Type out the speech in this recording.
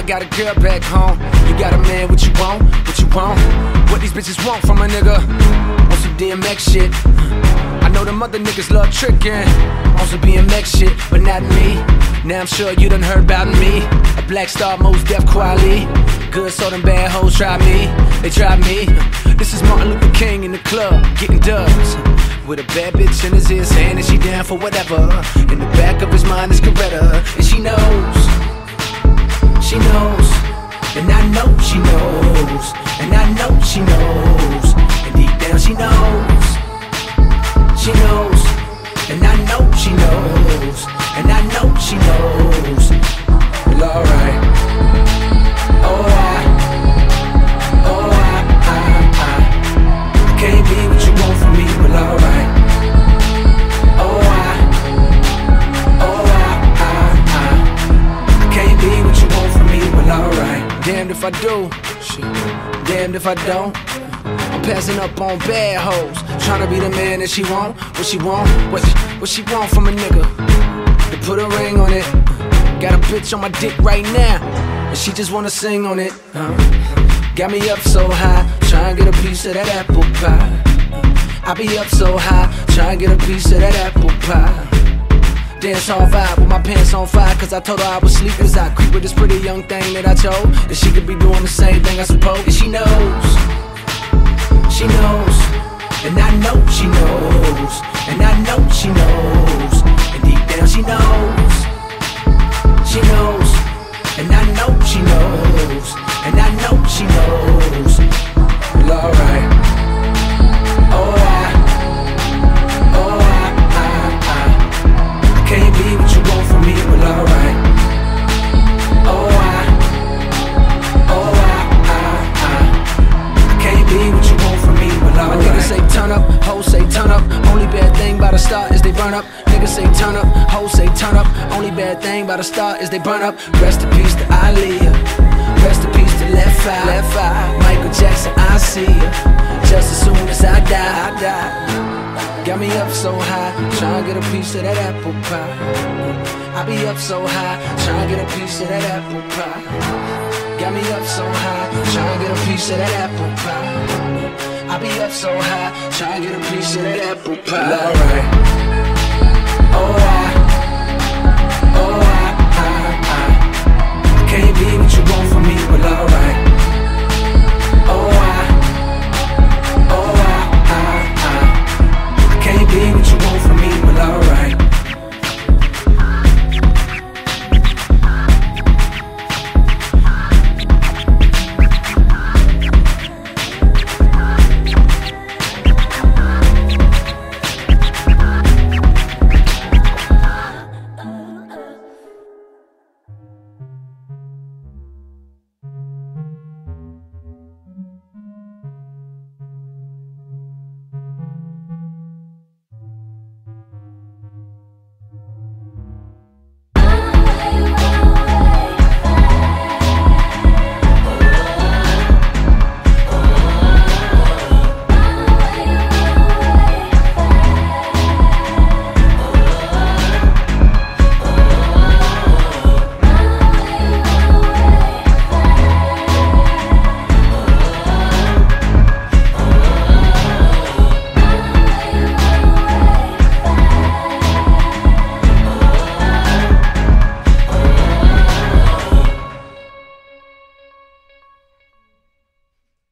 got a girl back home. You got a man, what you want? What you want? What these bitches want from a nigga? Want some DMX shit. I know them other niggas love tricking on some BMX shit, but not me. Now I'm sure you done heard about me. A Black Star, Mos Def, Quali. Good, so them bad hoes try me. They try me. This is Martin Luther King in the club, getting dubs. With a bad bitch in his ear saying that she down for whatever. In the back of his mind is Coretta. And she knows. She knows. And I know she knows. And I know she knows. And deep down she knows. She knows. And I know she knows. And I know she knows. Well, alright. Can't be what you want from me, well alright. Can't be what you want from me, well alright. Damned if I do, shit. Damned if I don't. I'm passing up on bad hoes, trying to be the man that she want. What she want, what she want from a nigga. To put a ring on it. Got a bitch on my dick right now, and she just wanna sing on it. Got me up so high, try and get a piece of that apple pie. I be up so high, try and get a piece of that apple pie. Dance hall vibe with my pants on fire, cause I told her I was sleep as I creep with this pretty young thing that I chose. That she could be doing the same thing I suppose. And she knows. She knows. And I know she knows. And I know she knows. And deep down she knows. She knows. And I know she knows. And I know she knows. Well, alright. Can't be what you want from me, well, alright. Can't be what you want from me, well, alright. My niggas say turn up, hoes say turn up. Only bad thing about a star is they burn up. Niggas say turn up, hoes say turn up. Only bad thing about a star is they burn up. Rest in peace to Aaliyah. Rest in peace to Left Eye. Michael Jackson, I see ya. Just as soon as I die. Got me up so high, tryna get a piece of that apple pie. I be up so high, tryna get a piece of that apple pie. Got me up so high, tryna get a piece of that apple pie. I be up so high, tryna get a piece of that apple pie. Alright. Can't be what you